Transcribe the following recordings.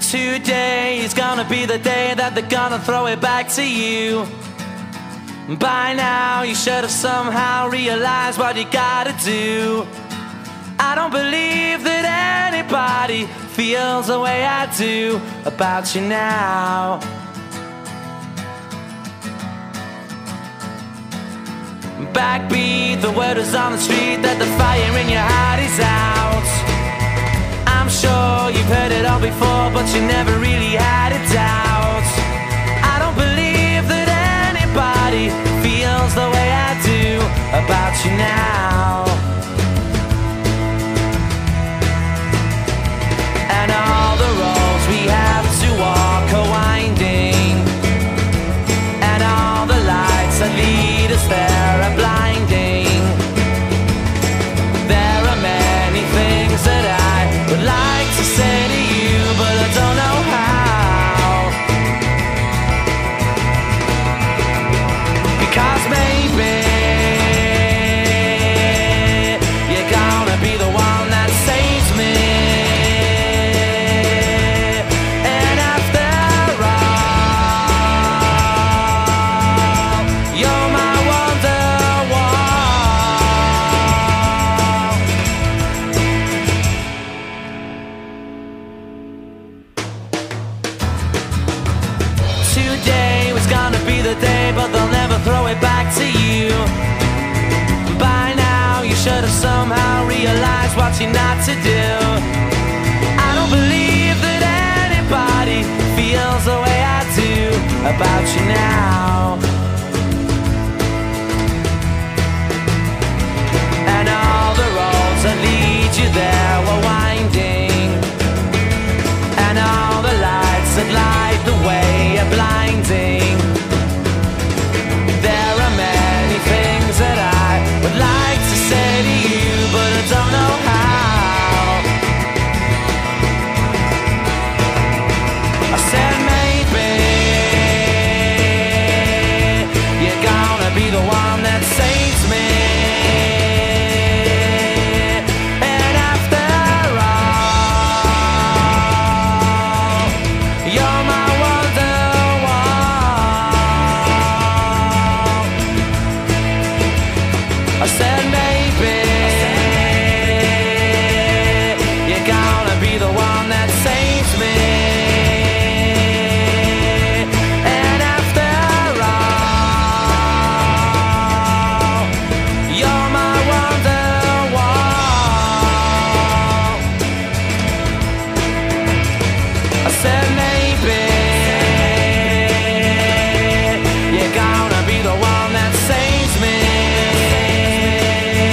Today is gonna be the day that they're gonna throw it back to you. By now you should have somehow realized what you gotta do. I don't believe that anybody feels the way I do about you now. Backbeat, the word is on the street that the fire in your heart is out. I'm sure you've heard it all before, but you never really had a doubt. I don't believe that anybody feels the way I do about you now. And all the roads we have to walk are winding, and all the lights that lead us there are blinding. There are many things that I would like to say to you, but I don't know how. Because maybe you're gonna be the one that saves me. And after all, you're my Wonderwall. Today was gonna be the day, but they'll never throw it back to you. By now you should have somehow realized what you're not to do. I don't believe that anybody feels the way I do about you now. And all the roads that lead you there were winding, and all the lights that light the way are blinding. There are many things that I would like to say to you, but I don't know how. I said maybe you're gonna be the one that saves me. And after all, you're my Wonderwall. I said maybe you're gonna be the one that saves me. And after all, you're my Wonderwall. I said maybe you're gonna be the one that saves me.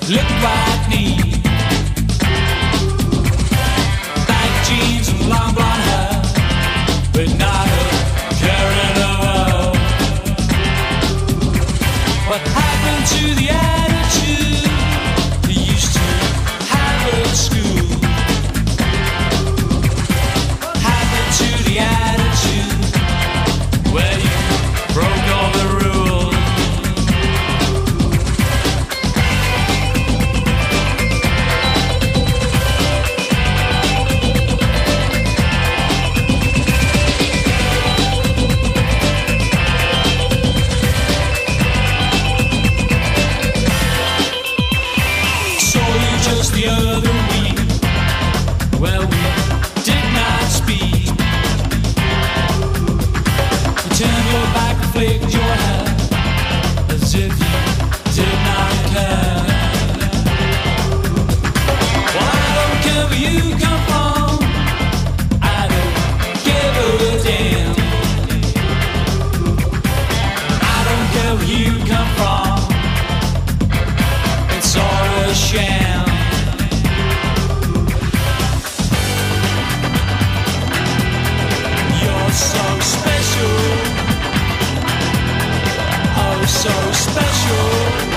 look like me. Tight jeans and long blonde hair, but not a care in the world. What happened to the attitude you used to have at school? What happened to the attitude where you broke all the rules? The other week, well, we did not speak. You turned your back and flicked your hair as if you did not care. Well, I don't care where you come from, I don't give a damn. I don't care where you come from, it's all a sham. So special, oh so special,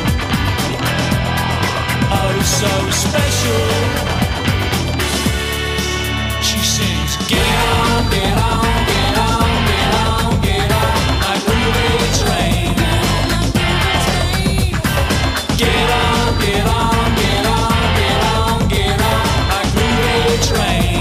oh so special. She sings, get on, get on, get on, get on, get on, my groovy train. Get on, get on, get on, get on, get on, my groovy train.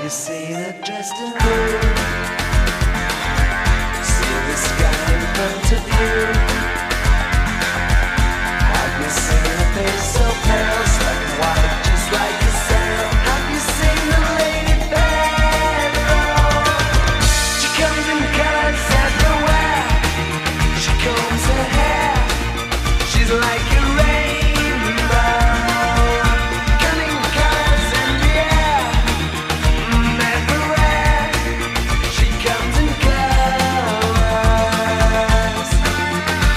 you seen her dressed in blue? See the sky in front of you. Have you seen her face so pale, black and white, just like a sail? Have you seen the lady Pharaoh? She comes in colors everywhere. She combs her hair. She's like a rainbow. Cunning colors in the air. Everywhere. She comes in colors.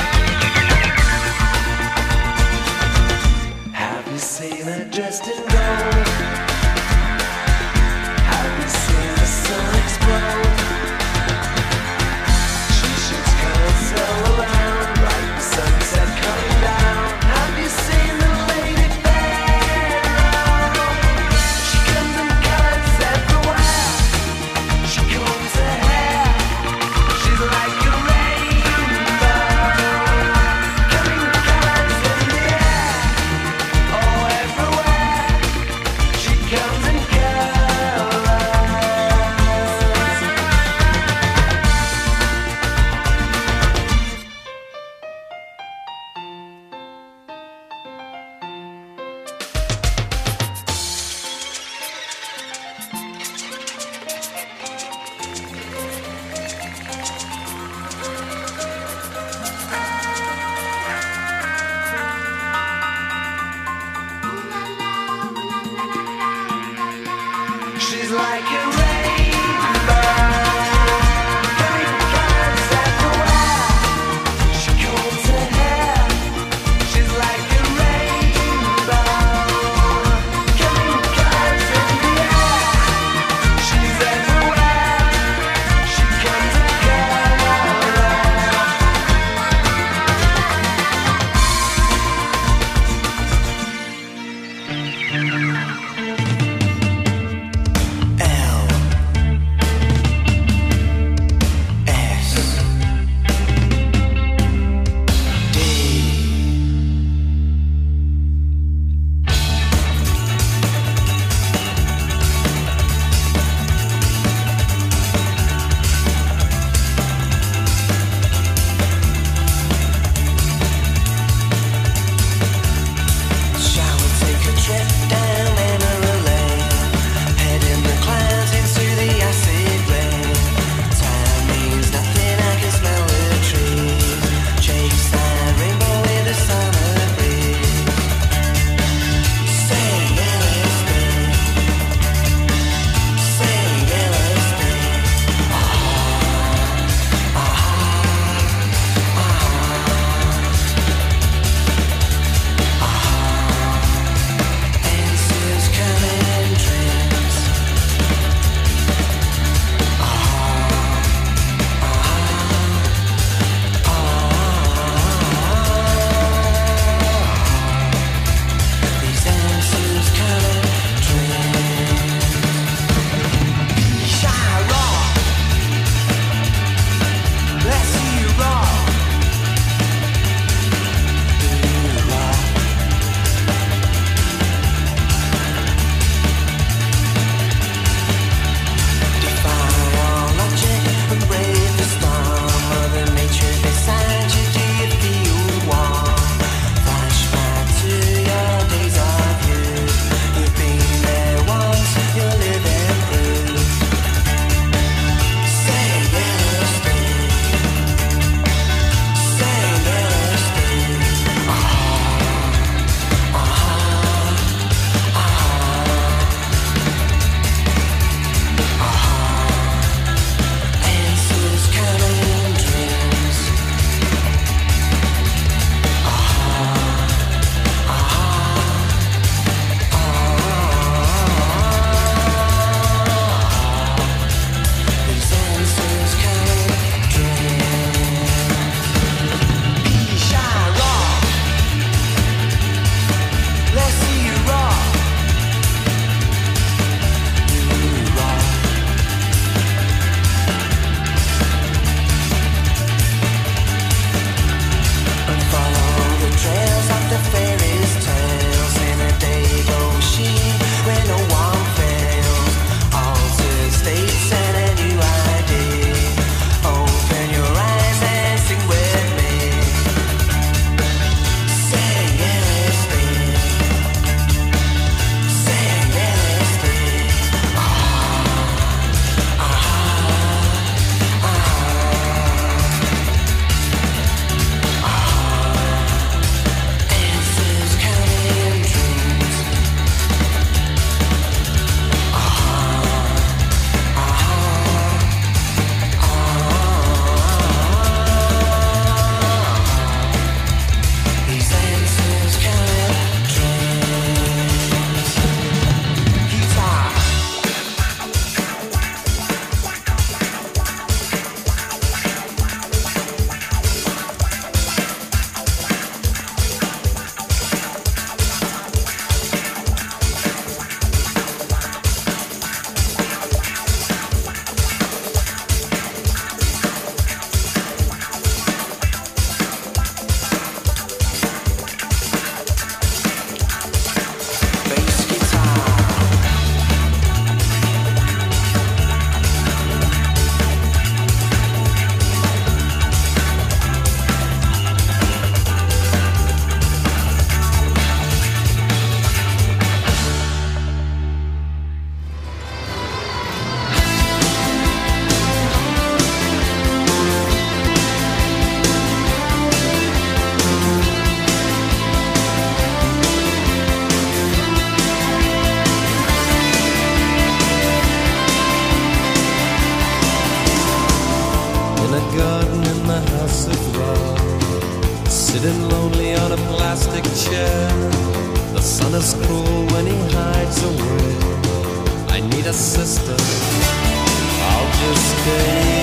sitting lonely on a plastic chair. The sun is cruel when he hides away. I need a sister, I'll just stay.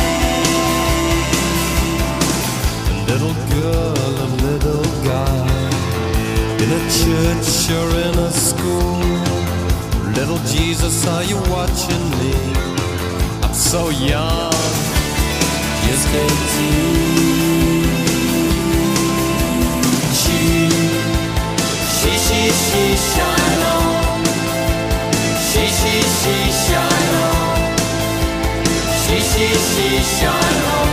A little girl, a little guy, in a church or in a school. Little Jesus, are you watching me? I'm so young, just 18. She, shine on. She, shine on. She, shine on.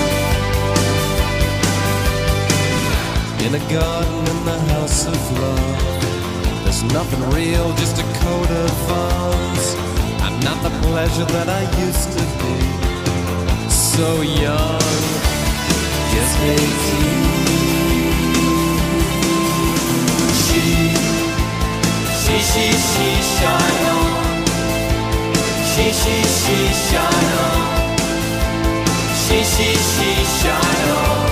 In a garden in the house of love, there's nothing real, just a coat of arms. I'm not the pleasure that I used to be. So young, just 18. She, shine on. She, shine on. She, shine on.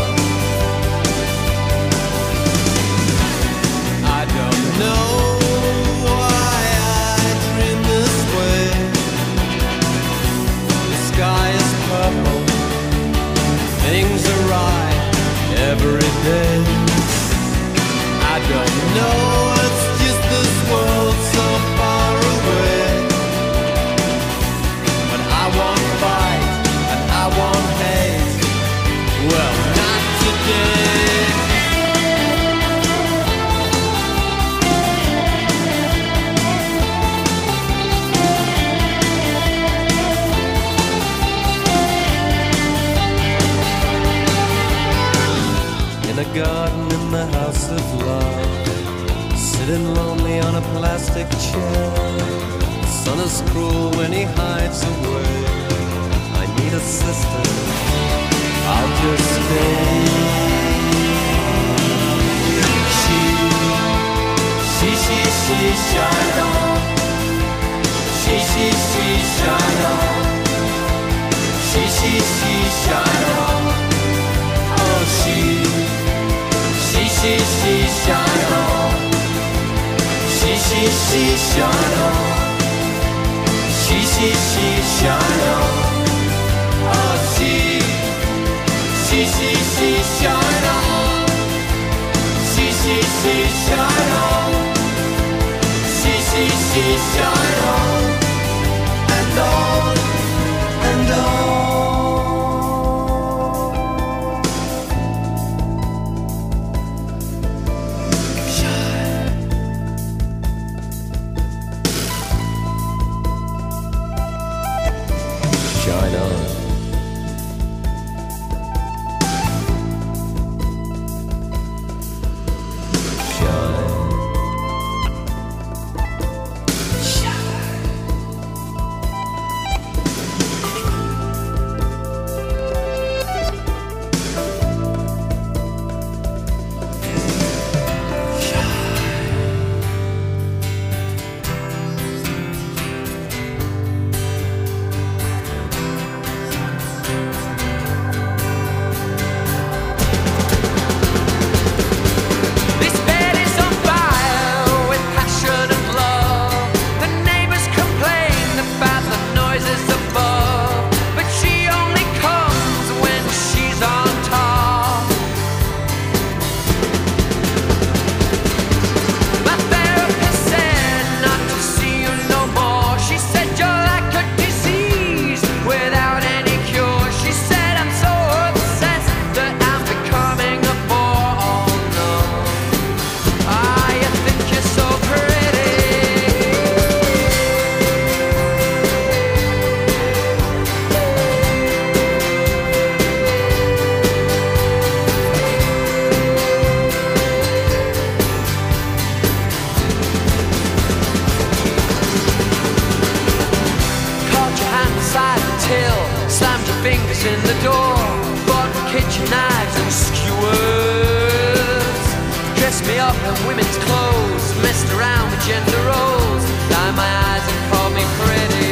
I don't know why I dream this way. The sky is purple, things are right every day. I don't know, it's just this world so far away. But I won't fight and I won't hate. Well, not today. In a garden in the house of love, sitting lonely on a plastic chair. The sun is cruel when he hides away. I need a sister, I'll just stay. She, shine on. She, shine on. She, shine on. Oh, she, shine on. She, shine on. She, shine on. Oh, she, shine on. She, shine on. She, shine on. And on, and on. Shine on. fingers in the door, bought kitchen knives and skewers, dressed me up in women's clothes, messed around with gender roles, lined my eyes and called me pretty.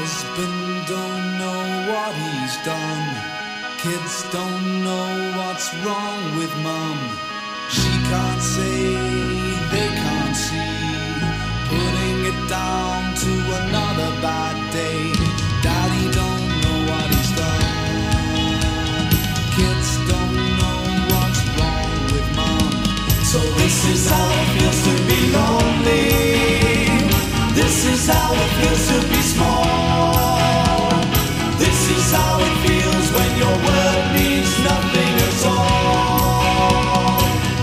Husband don't know what he's done. Kids don't know what's wrong with mum. She can't say, they can't see. Putting it down to another bad day. Daddy don't know what he's done. Kids don't know what's wrong with mum. So this is how it feels to be lonely. This is how it feels to be small. This is how it feels when your word means nothing at all.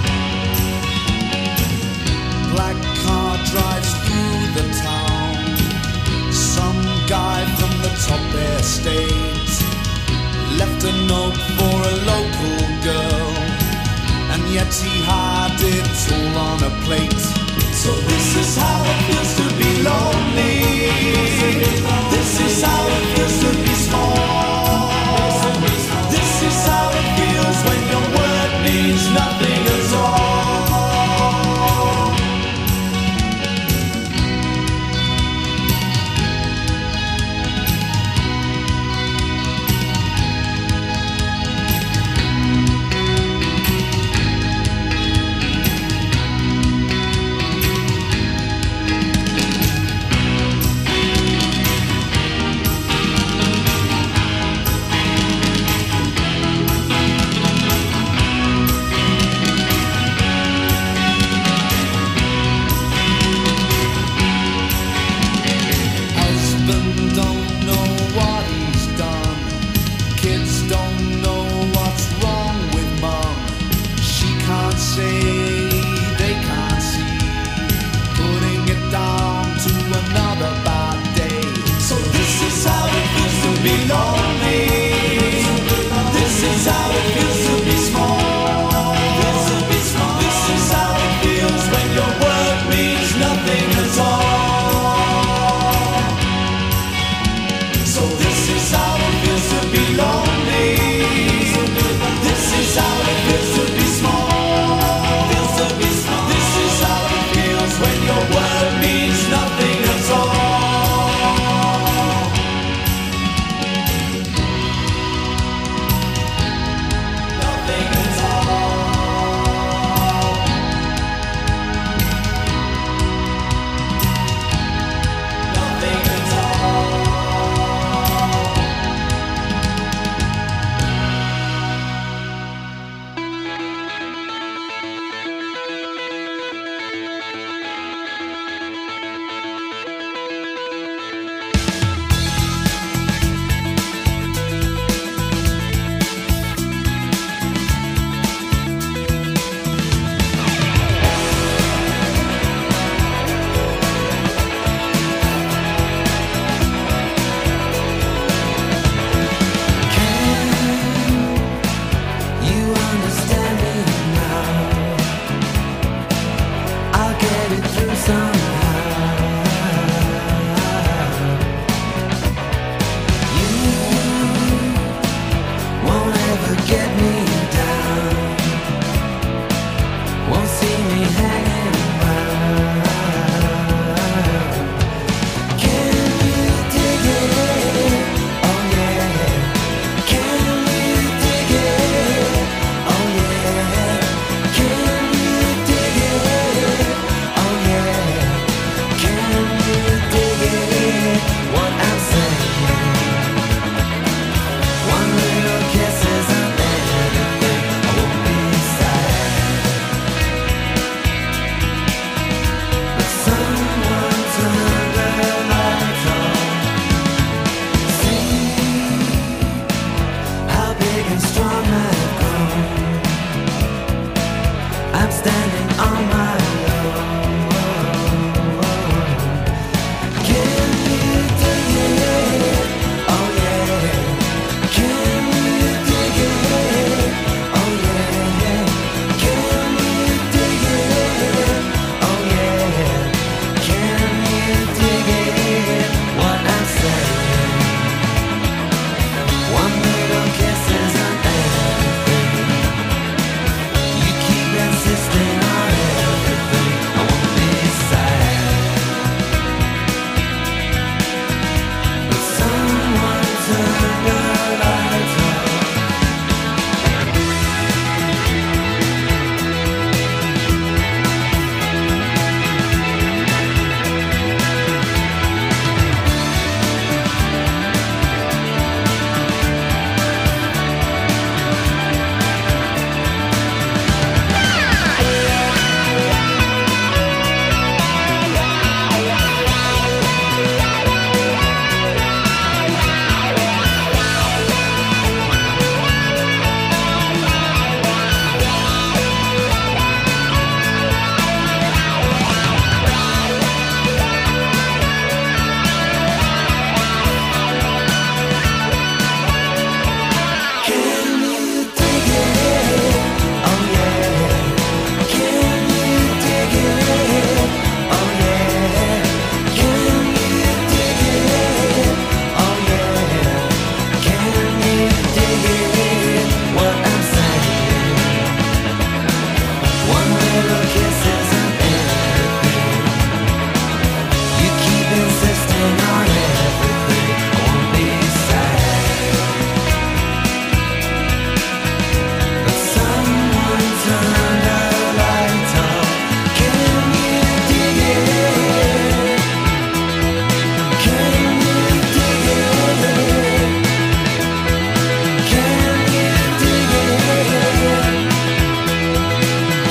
Black car drives through the town. Some guy from the top estate left a note for a local girl, and yet he had it all on a plate. So this is how it feels to be lonely. This is how it feels to be small. This is how it feels when your word means nothing at all.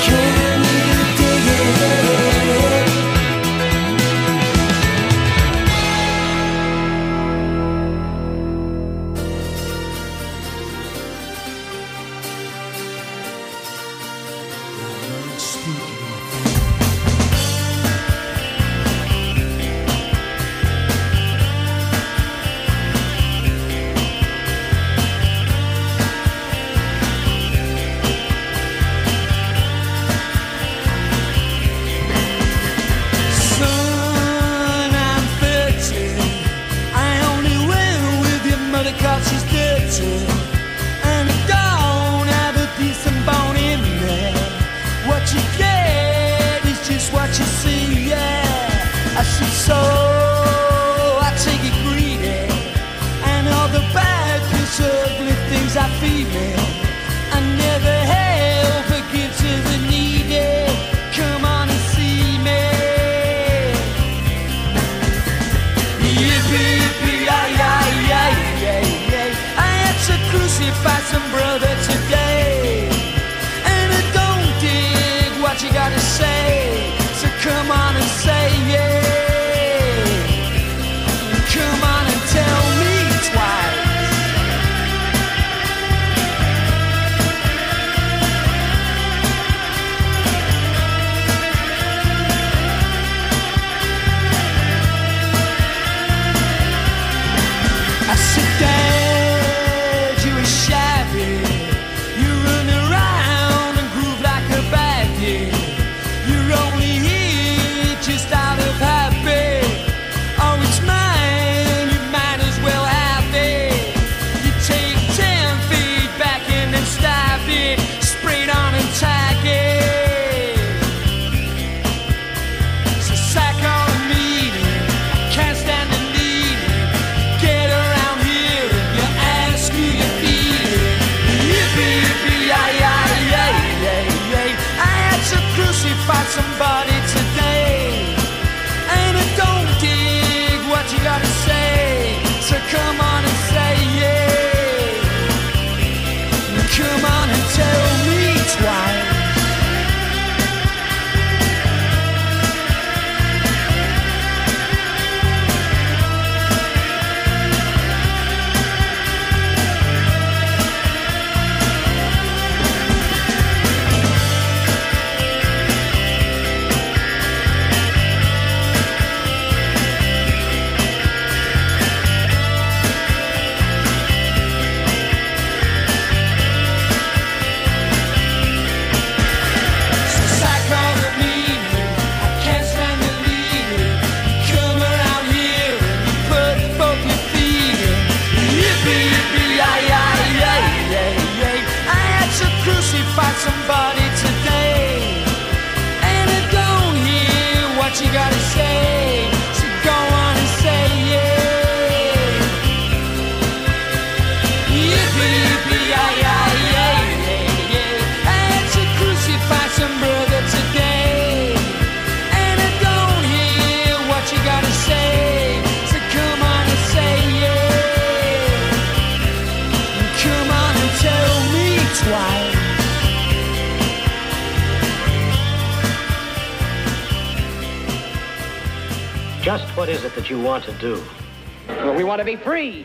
Just what is it that you want to do? Well, we want to be free.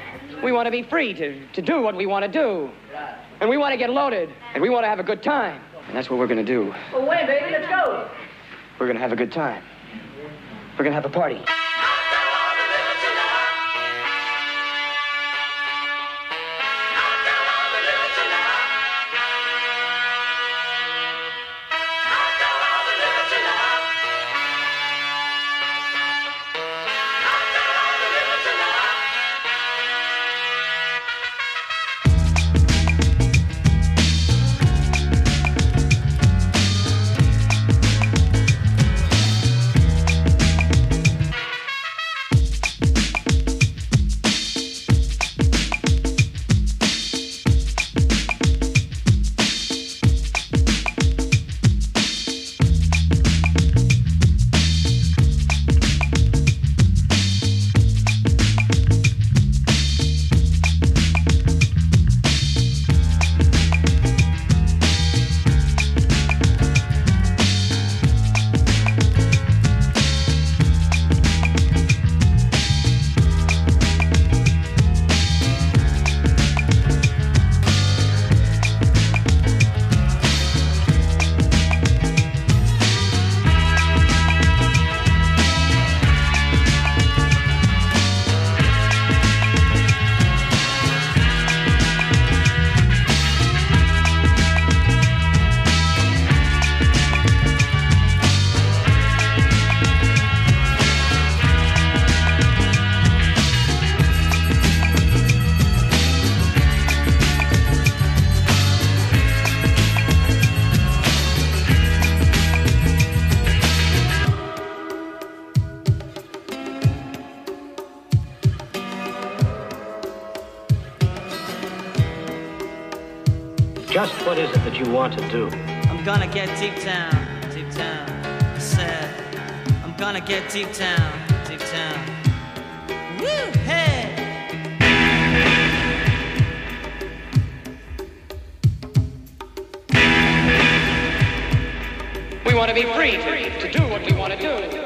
We want to be free to do what we want to do. And we want to get loaded. And we want to have a good time. And that's what we're going to do. Well, when, baby? Let's go. We're going to have a good time. We're going to have a party. Just what is it that you want to do? I'm gonna get deep down, I said, I'm gonna get deep down. Woo, hey! We want to be free to do what we want to do.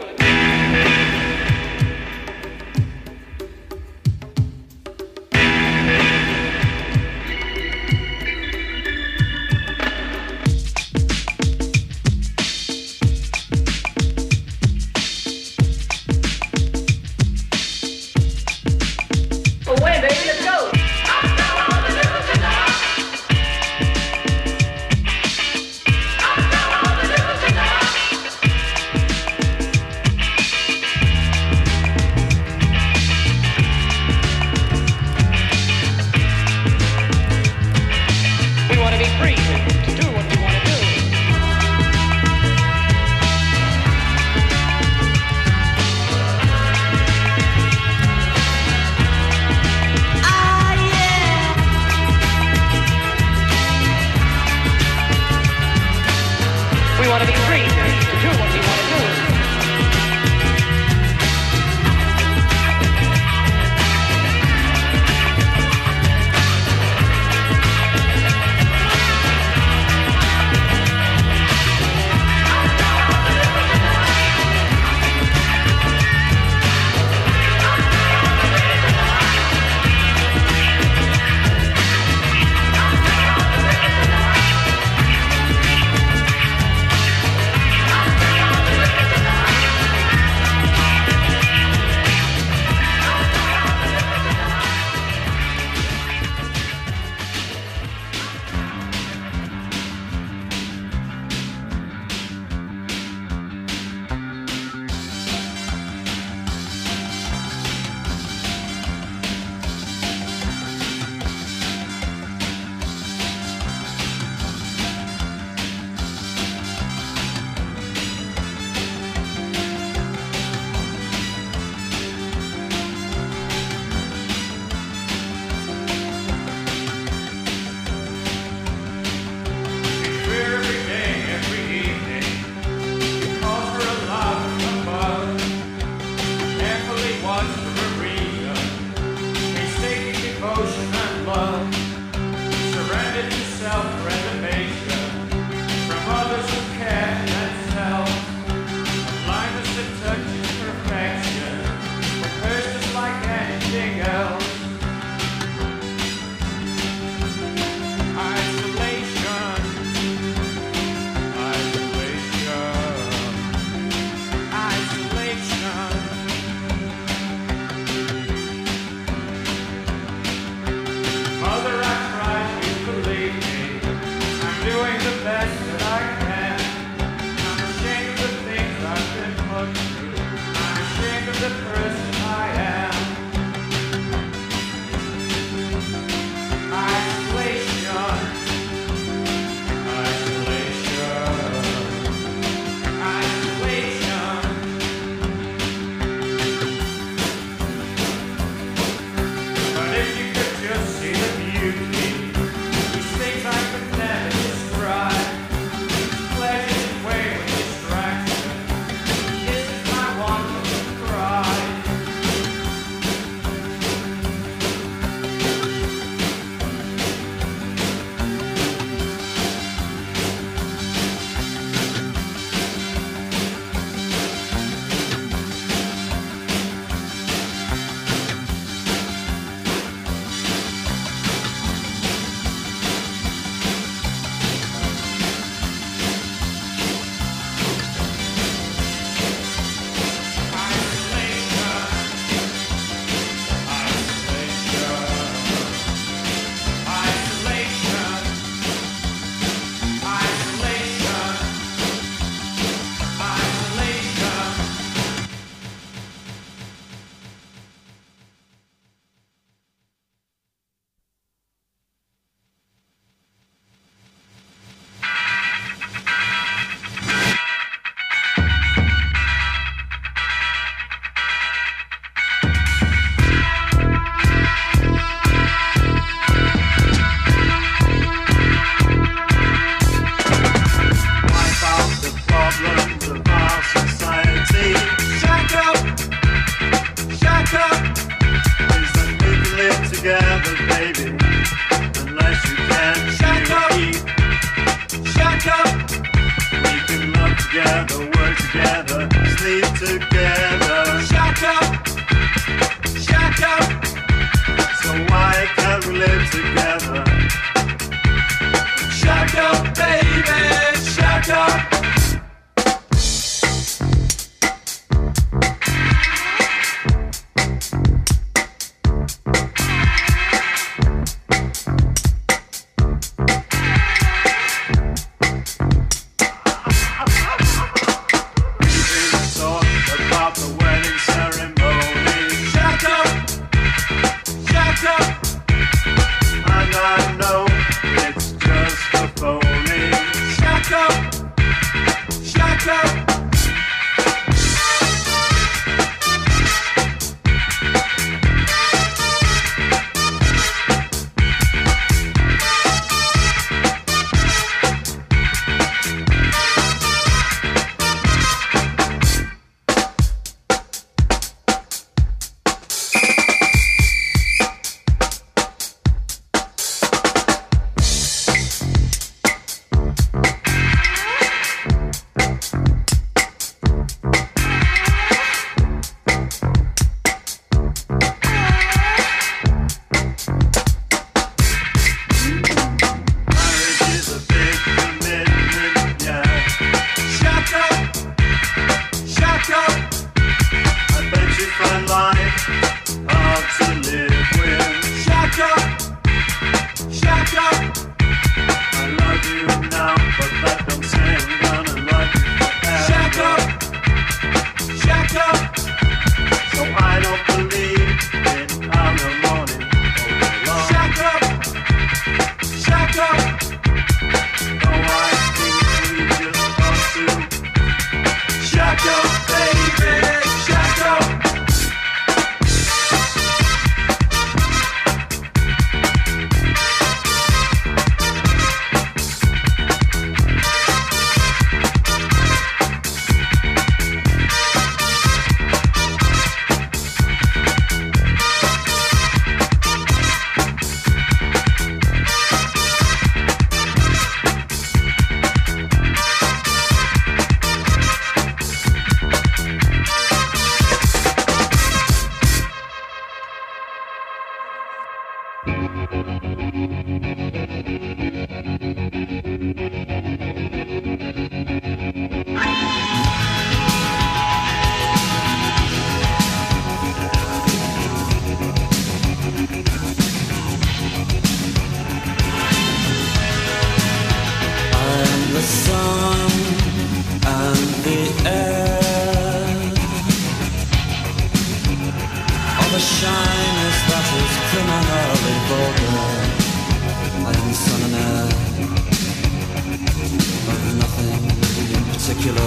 particular.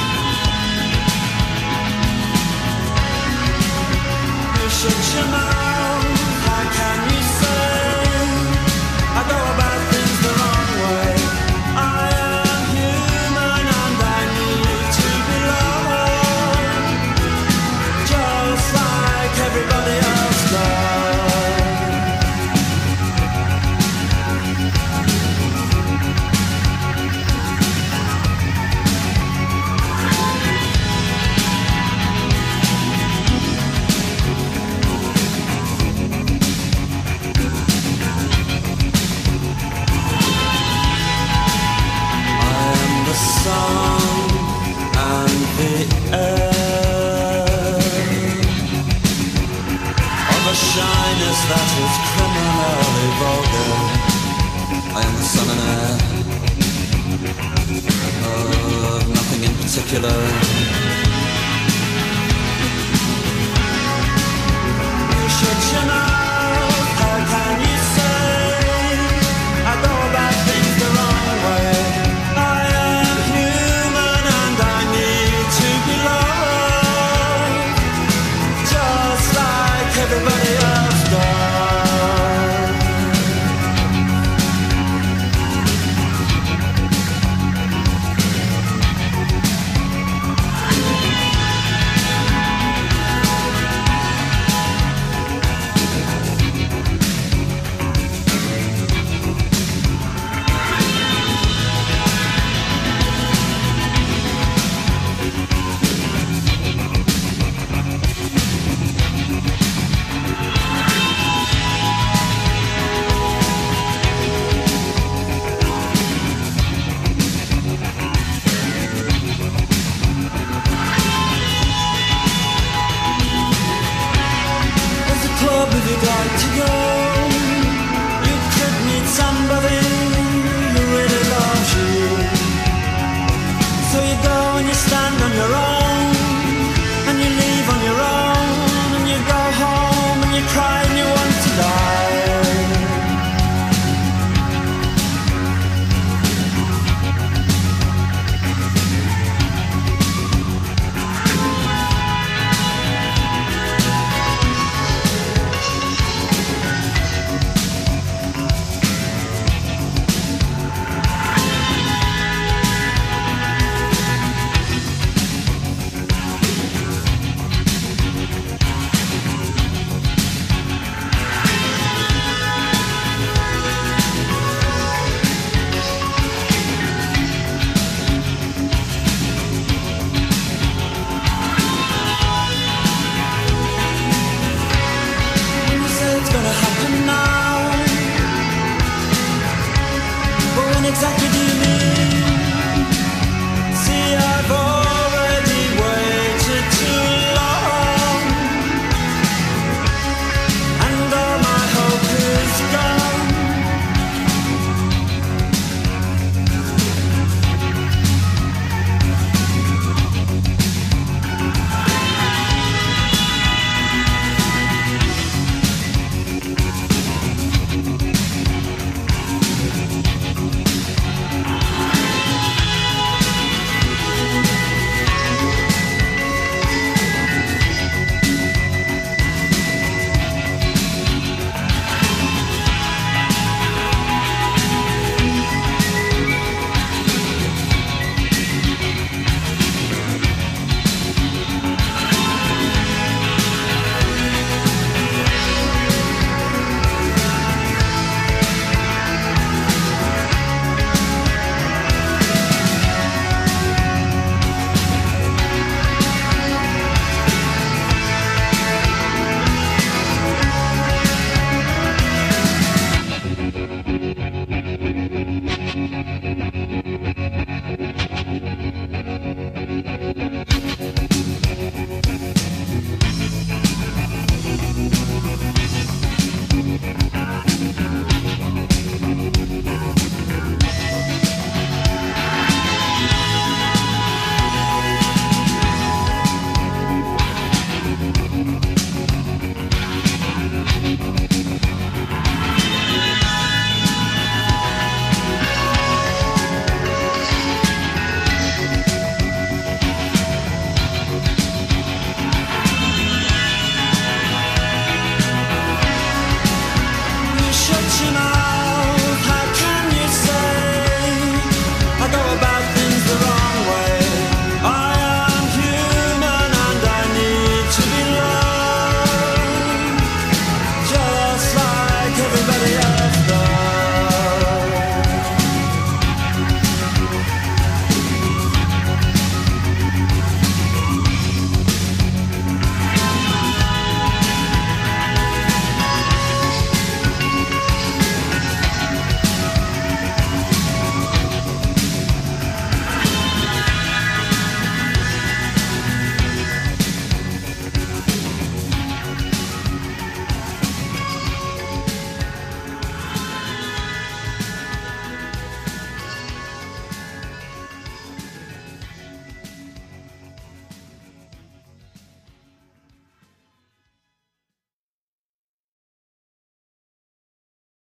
You shut your mouth, how can you say I go about things the wrong way? I am human and I need to be loved, just like everybody else does. Sun and the air of a shyness that is criminally vulgar. I am the sun and air of nothing in particular.